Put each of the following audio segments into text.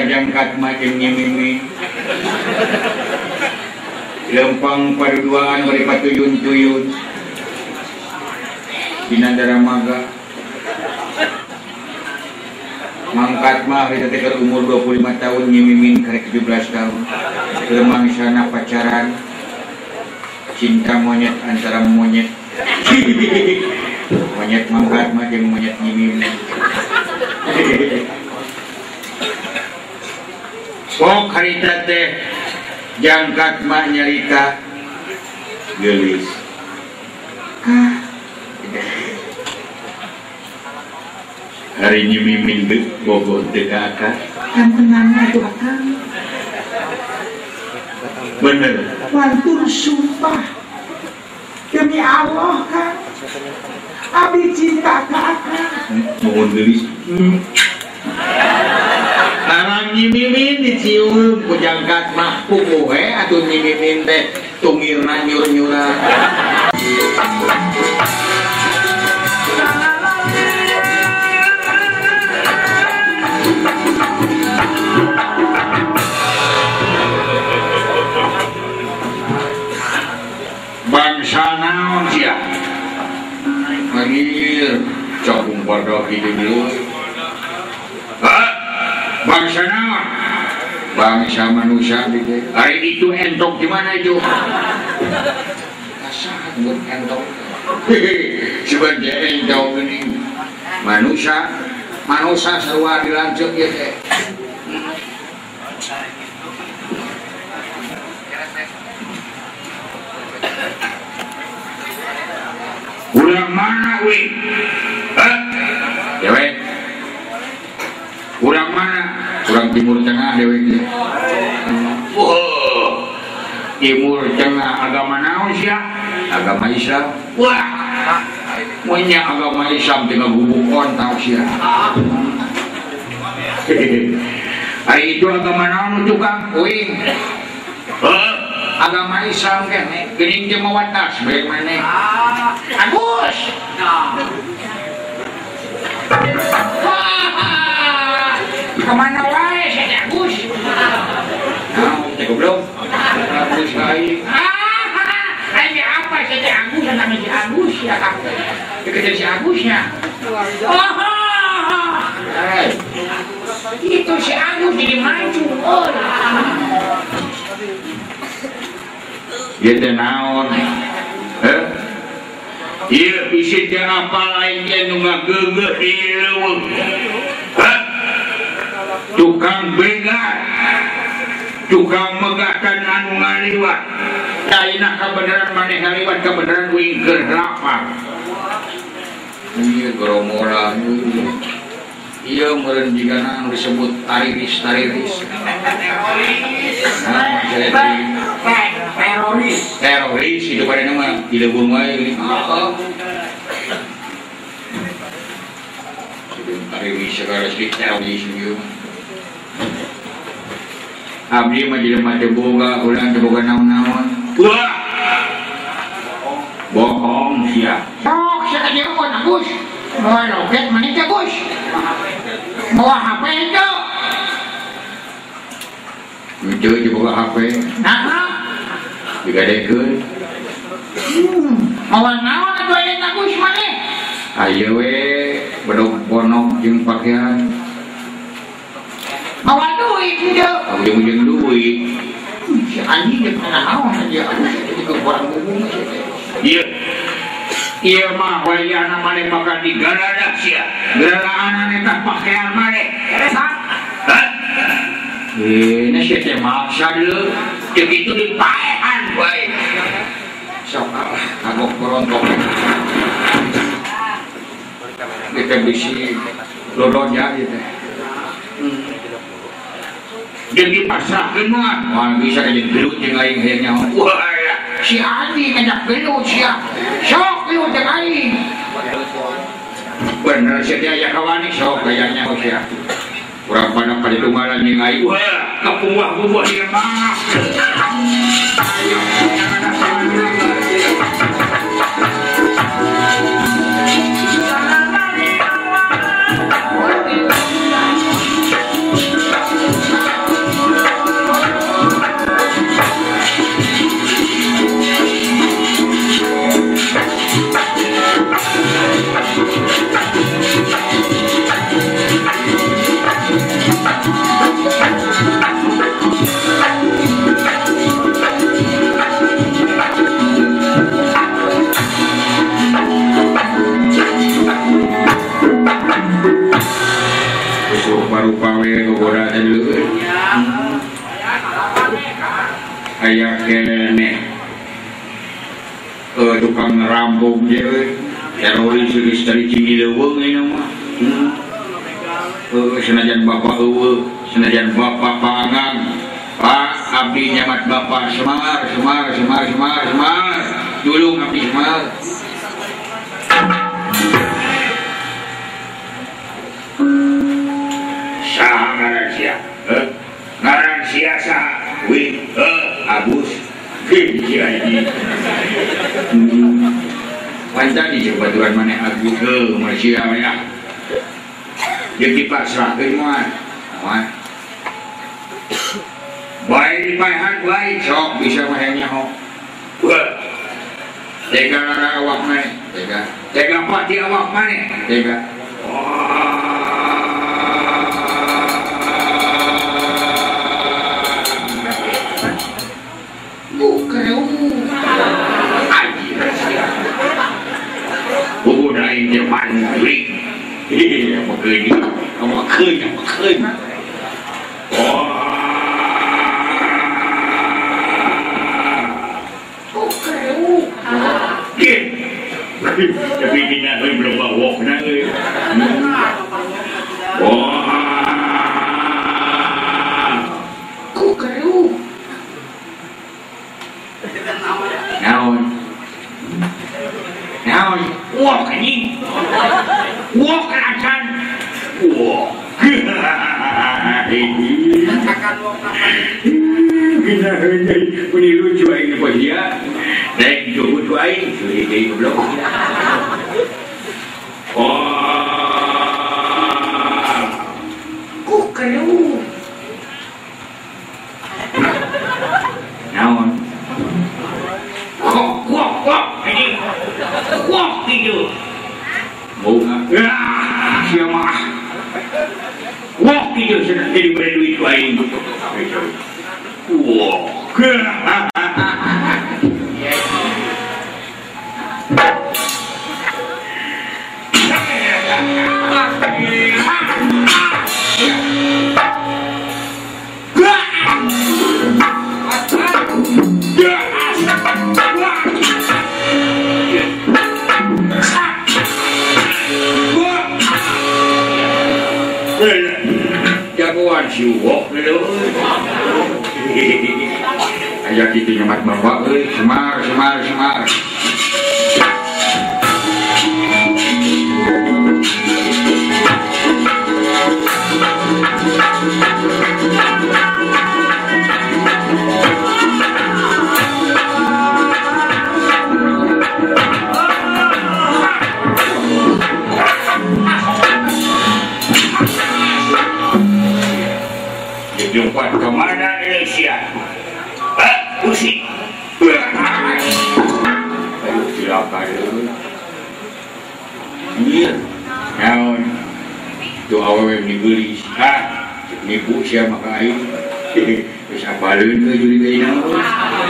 jangkat makin nyimimi lempang paduaan beri patuyun-tuyun Binandara Maga mangkat mah kita teker umur 25 tahun nyimimin karek 17 tahun lemang sana pacaran cinta monyet antara monyet monyet mangkat mah jeung monyet nyimimin kok harita teh jangkat mah nyarita geulis hari nyimimin dek bogoh teh ka akang kan tenangnya tuh akang bener wantur sumpah demi Allah kan abi cinta ka akang mohon geulis Karang nyimimin dicium ku jangkat mah kukuhe atuh nyimimin teh tungirna nyur-nyuran bangsa naon sia manggil cokung pada hidup dulu bangsa naon bangsa manusia gitu hari itu entok di mana itu kasar buat entok sebagai entok ini manusia sarua dilanjut ya teh ulang mana weh ya weh ulang mana ulang timur tengah dewek timur tengah agama naon sia agama Islam wah monya agama Islam dengan hubungan tau sia hari itu agama naon tukang uing agama Islam kene geuning teh mawatas bae maneh Agus kemana wae si Agus teh goblok Agus lain ini apa si Agus namanya si Agus ya kak dikejar si Agusnya itu si Agus jadi maju dia teh naon ieu bisi teh apa lain teh nu ngageugeuh di leuweung tukang begal tukang megahkan anu ngaliwat daina kabeneran maneh ngaliwat kabeneran wing keur lapar ieu gerombolan ieu meureun jigana anu disebut tariris teroris itu pada nama di leuweung wae geuning tariris segala sedikit teroris ieu abdi mah jelema teu boga urang teu boga naon-naon wah bohong sia sok sia ka dieu pun Agus bawa loket maneh teh Gus bawa HP itu itu dibuka HP nah digadekeun awal naon atuh aya Agus maneh ayeuna we bedog ponok jeung pakaian awal duit dia ujung-ujung duit si anjing dia pernah naon aja jadi kurang ngomong iya mah wayana maneh bakal digaladak sia galaan eta pakaian maneh eresan ini sia teh maksa deuleu teu kitu dipaehan bae sok Allah kagok berontok kita bisi lodonya gitu jadi pasrahkeun mah bisa jadi gelut jeung aing hayang nyaho wah si Andi ngajak gelut sia sok gelut jeung aing bener sia teh aya kawani sok hayang nyaho sia urang pada kaditunggalan jeung aing wah kapuah-puah ieu mah dulu. Kayak kene tukang ngerampok dia teroris dari Cimileuweung ini mah senajan bapak senajan bapak pangang Pak abdi nyamat bapak Semar dulu abdi Semar saha ngaran sia ngaran sia saha wih Agus Gini panjang di jabatuan mana Agus Malaysia ya dia dipasrahkan mah baik dipahan baik sok bisa mahanya ho tega awak mana tega pati awak mana tega dia mandiri apa keun tapi kita belum bawa benar naon wah anjing wah keracan wah kita hendak meniru cuai ni pas dia naik jauh cuai sudah dia belum kok kalau naon kok anjing kok gitu mau siapa wah gitu sudah jadi berduit lain wah jagoan si wok dulu ajak itu nyamat bapak semar jumpa kemana Indonesia? Pusing. Aduh silakan dulu. Iya. Naon? Tu awewe dibeli. Nipu siapa maka aing. Wis apaleun ke juli teh naon?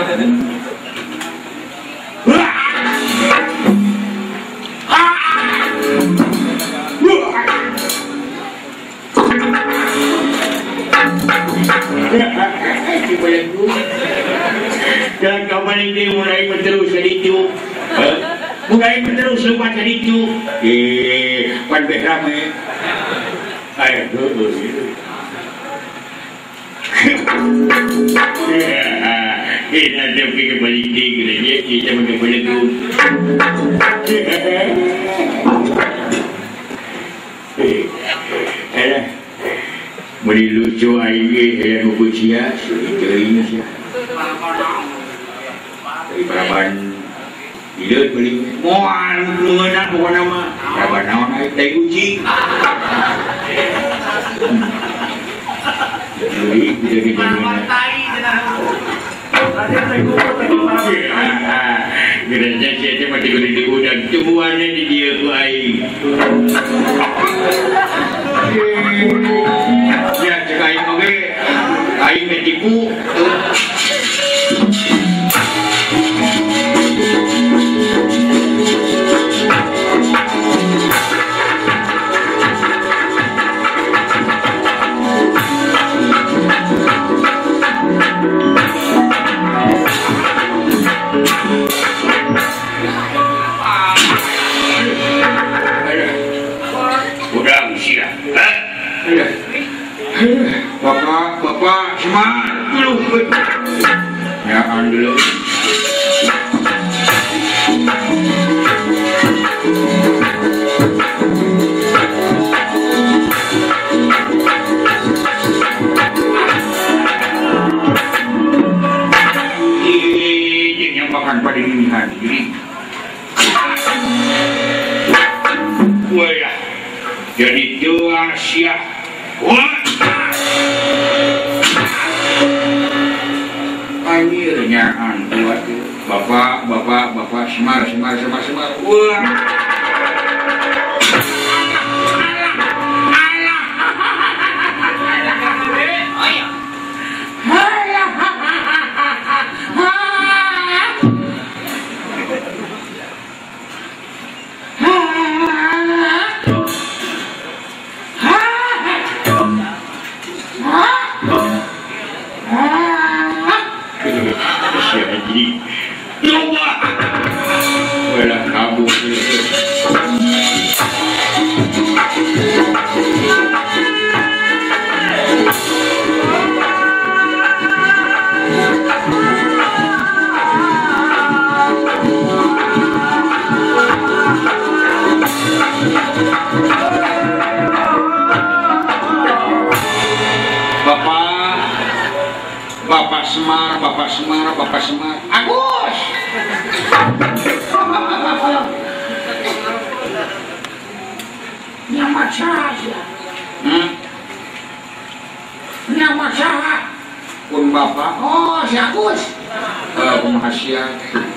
Dan kembali dia mulai menerus sedikit, lupa sedikit. Pan berame, ayo dulu. Ini ada kembali dia, kita kembali dulu. Mari lucu aing yang ngucia seuing sia. Baraban hideut beli moal leungeunna pokona mah. Baraban naon aya teh uji. Jadi jadi gereja saya mah di gudang temuannya di dia ku aing. Ya cek aing oge aing metipu. Bapak Semar dulu. Ya dulu. Makan pada dini hari. Wah ya, jadi doa siap. Wah, akhirnya buat bapak Semar. Wah. Bapak Semar. Agus. Nama saya. Nama saya. Pun Bapak. Oh, si Agus. Penghasiat.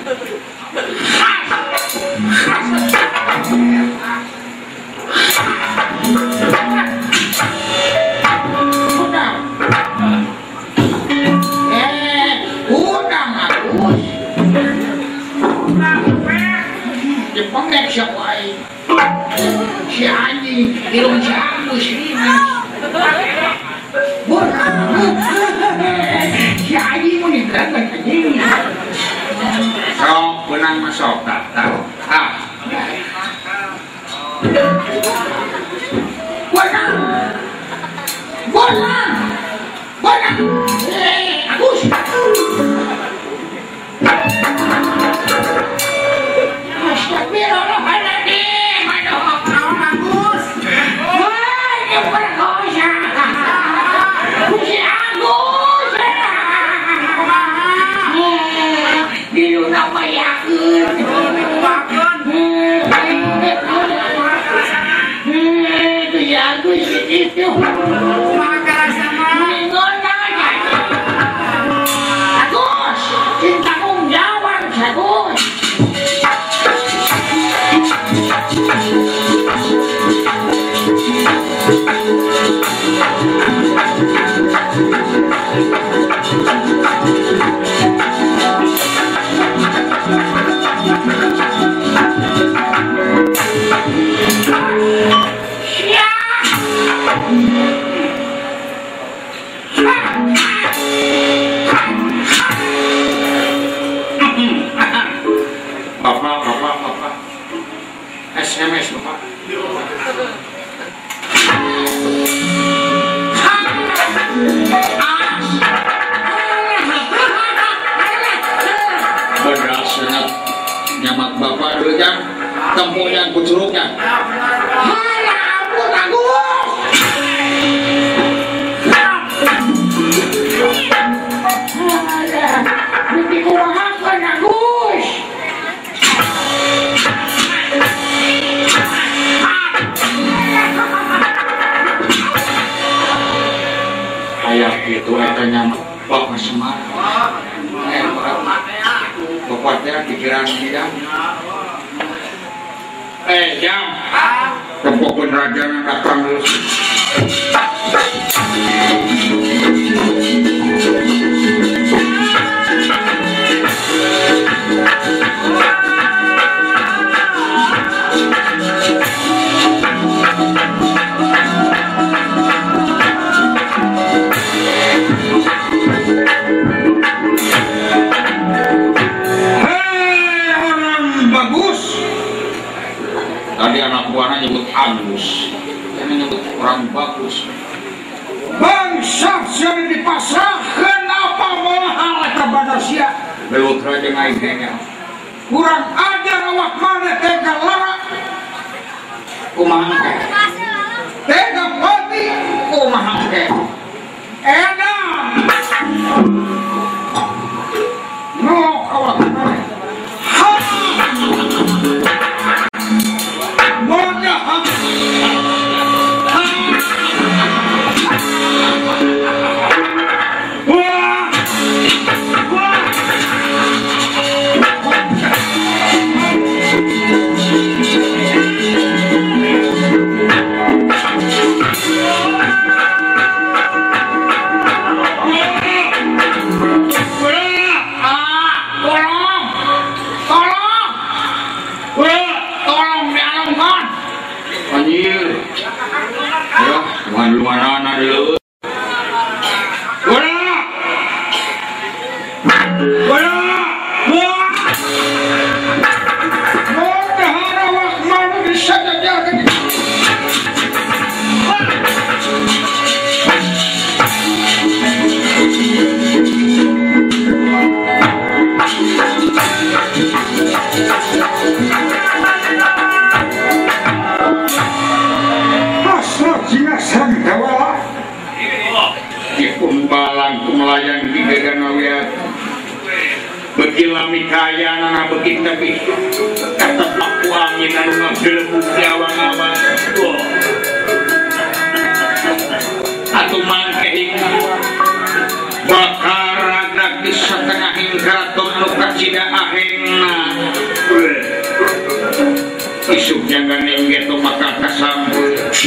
Pengek siapa si anjing ilmu si Agus ini si anjing mau digerakkan anjing sok benang masuk tak benang Agus Astagfirullahaladzim, aduh, Agus. Wah, ini berkosa. Si Agus. Dulu nama yakin. Itu si Agus itu. Agus, cinta jawab, Agus. Bapak. SMS Bapak. Beras sangat nyamak Bapak dulu kan tempuh yang kucuruknya. Kayak gitu etanya Bapak Semar. Bapaknya pikiran tidak. Jam. Tempokun raja yang datang terus. Tadi anak buahnya nyebut Agus, ini nyebut orang bagus. Saksian dipasrahkan apa mahal ke manusia. Belum raja ngaitnya. Kurang ajar awak mana tega lara. Kumaha teh? Tega pati. Kumaha teh? Edan. Nok awak mana. Monya lumayan dulu. Kumbalan kumelayan di gaganawiat begilami kaya nana begit tapi kata paku angin anu ngagelebuk di awang-awang atau mangkehing bakar ragak di setengahing keraton anu kacida ahengna isuk jangan yang gitu maka kasambul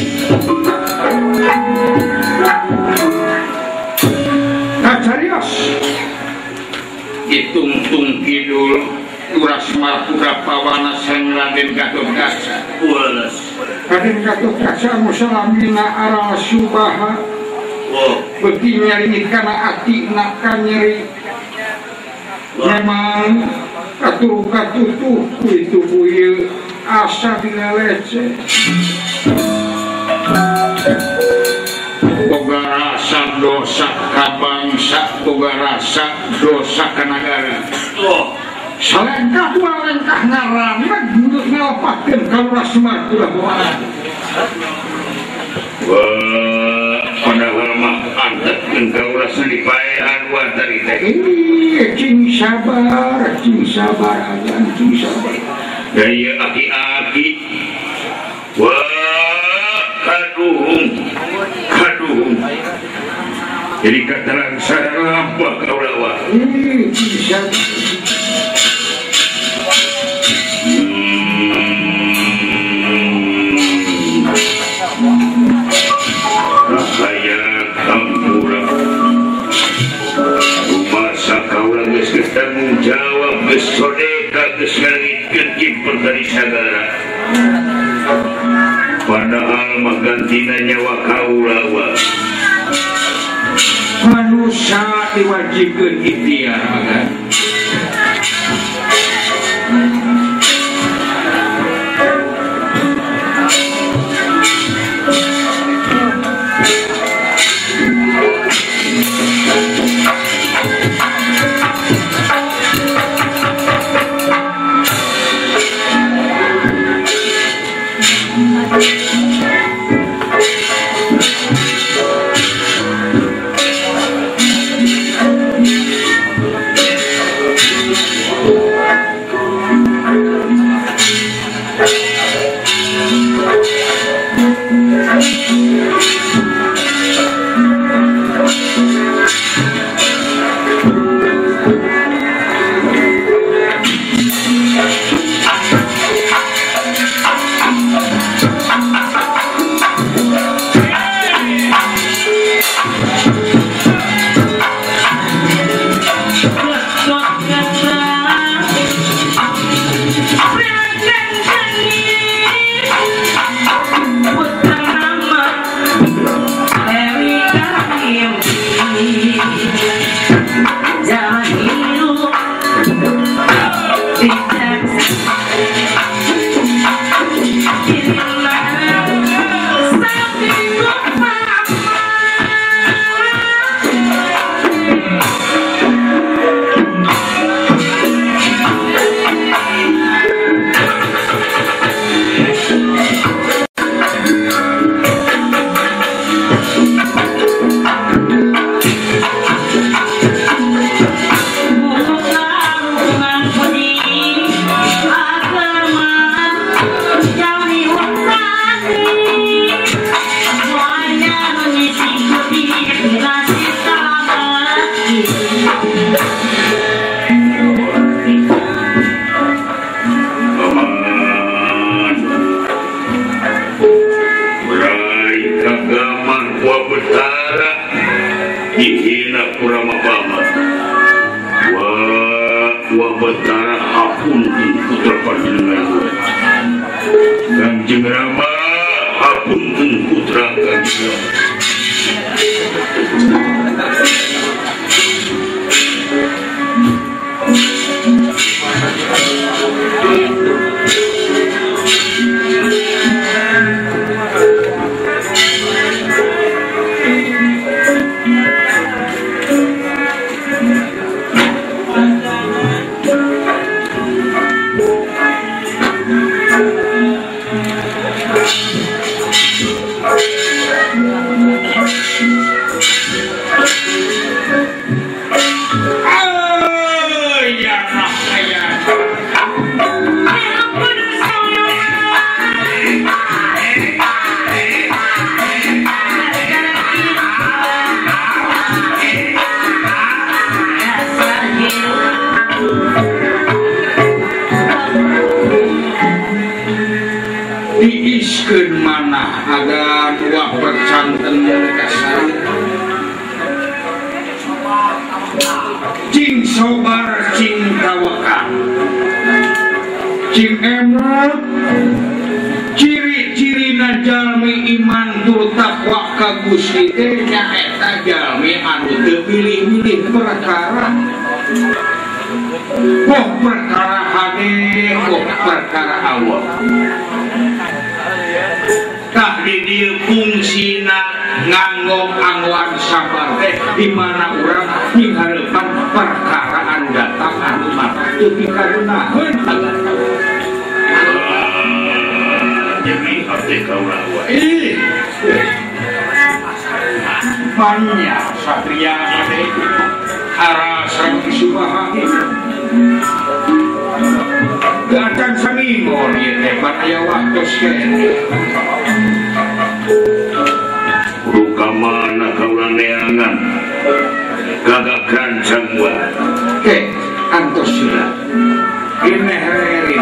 Kacarios ditungtung kidul uras marpura pawana sang Raden Gatotkaca ulas Raden Gatotkaca musalamina aral subaha beki nyari kana ati nak nyeri memang katutuh itu buye asa dilelece boga rasa dosa ka bangsa boga rasa dosa ka nagara salengkah walengkah ngaraneg untuk ngelepakeun kaluras Martula Bawana padahal mah antepkeun kaluras dipaehan buat tadi teh cing sabar agan cing sabar daya aki-aki kaduhung jadi kataran sarang apa kau lawa bisa saya kampura masa kau lagi tanggung jawab besodeka kesangitkeun kiper dari sagara padahal menggantina nyawa kaulawa manusia diwajibkan ikhtiar kan dihina kurang apa wah betara hapunten putra panjenengan Kanjeng Rama hapunten putra Kanjeng diiskeun manah ada dua percanten kasar cing sobar cing tawakal cing emot ciri-cirina jalmi iman tur takwa ka Gusti teh nyaeta jalmi anu teu pilih-pilih perkara kok perkara hade kok perkara Allah tak di dieu fungsina nganggo angwan sabar teh di mana urang minghareupan perkara anu datang anu mata teu pikarunaheun jadi hati kaula wae banyak satria ade arasan subahani gacan samimor ieu teh pan aya waktos kene ruka mana kaula neangan gagakan sangwa antos sila ini hari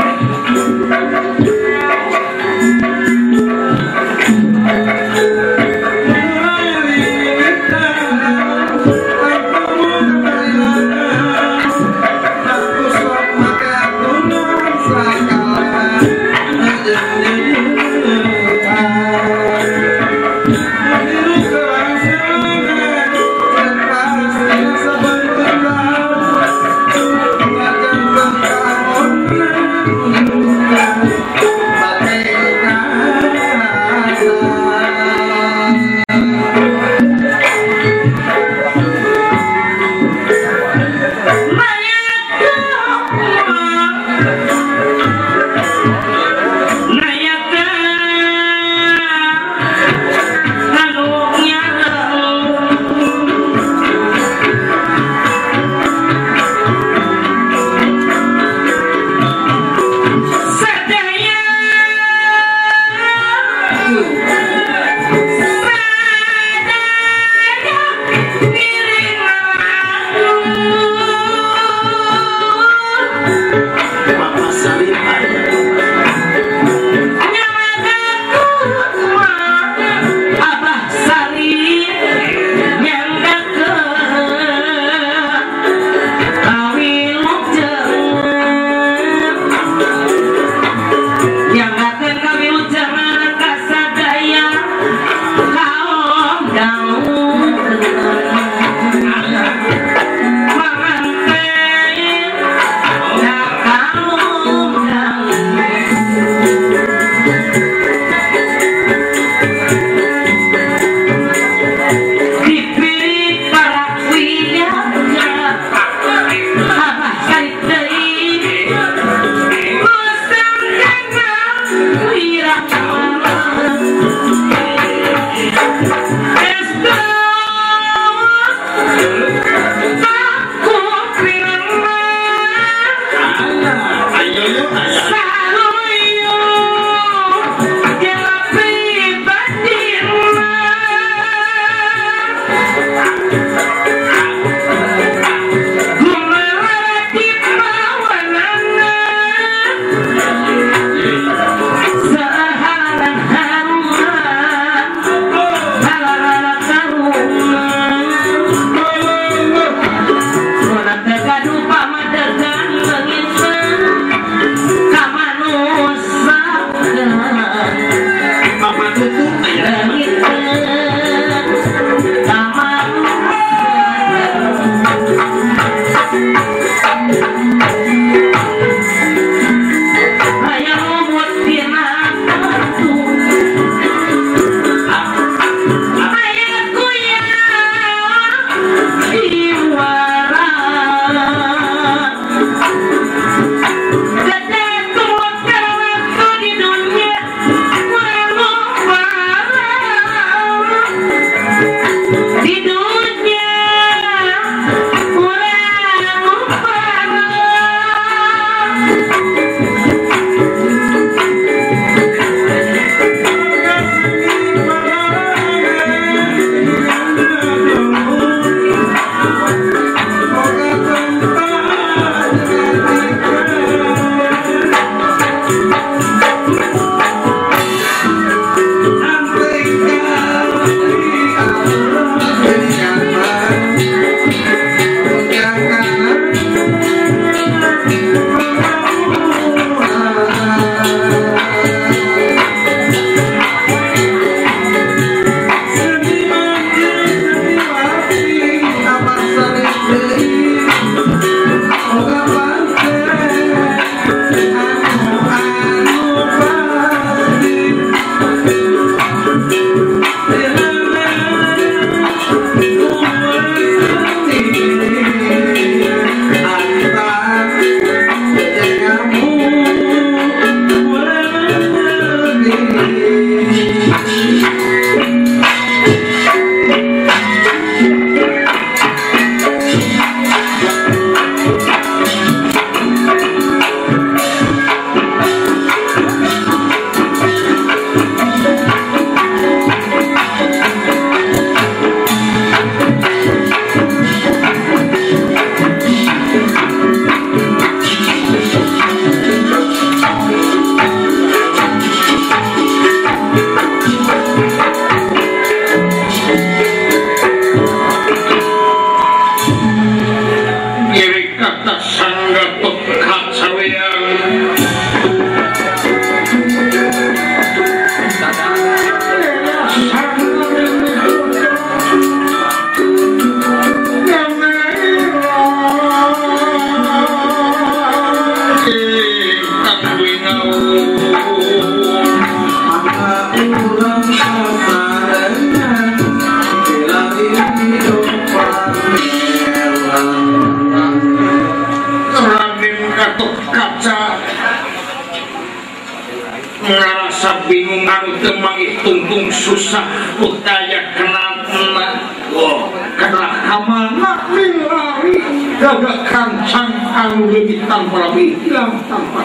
temangih tungtung susah utaya kenatna karena kamana lari gagak kancang anu lebih tanpa lebih hilang tanpa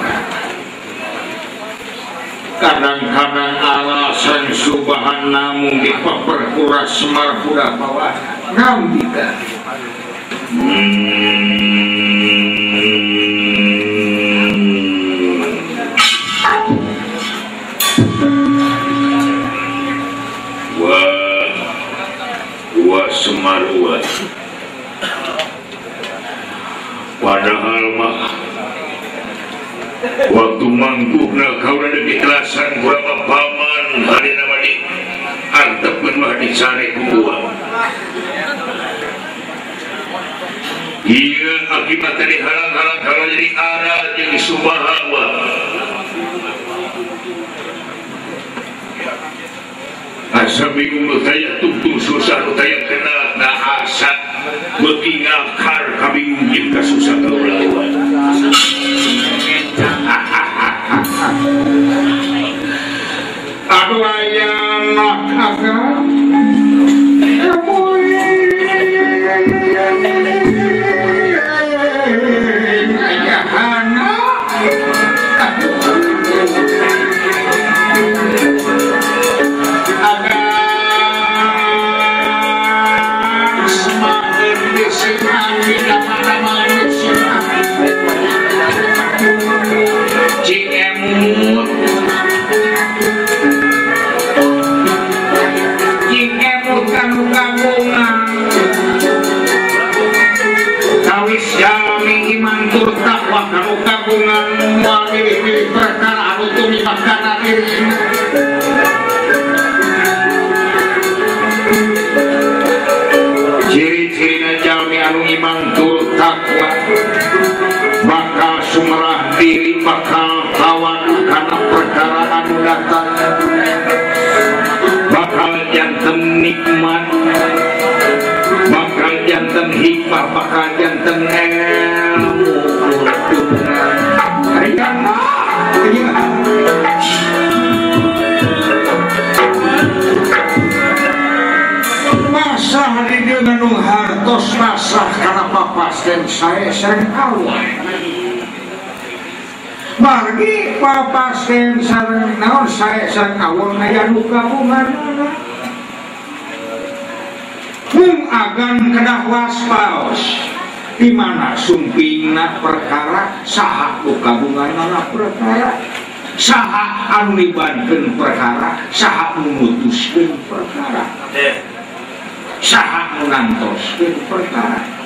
kadang-kadang alasan subahan namun diperkuras Semar budak bawah ngambika Semarua padahal mah waktu mangkukna kau ada diklasan berapa paman hari nama di antepun mah dicari kubuah iya akibat dari halang-halang kalau jadi arah jadi subahawa asa bingung utaya tungtung susah utaya kena na asa beuki ngakar kabingung jeung kasusah kaulawan aduh aya anak agam ciri-cirina jalmi anu iman turut takwa bakal sumerah diri bakal kawan karena perkara anu datang bakal janten nikmat bakal janten hikmah bakal janten ilmu masah di dia nanu hartos masah karena papasten saya sering awal bagi papasten sering naon saya sering awal ngaya luka bungan agan kedah waspaos di mana sumpingna perkara saha luka bungan perkara saha anu nibankeun perkara saha memutuskeun perkara saha menantoskeun perkara